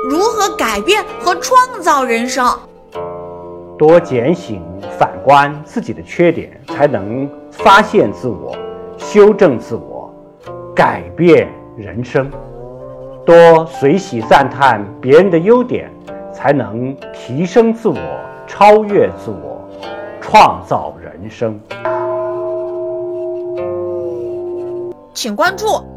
如何改变和创造人生。 多检醒反观自己的缺点，才能发现自我，修正自我，改变人生。多随喜赞叹别人的优点，才能提升自我，超越自我，创造人生。 请关注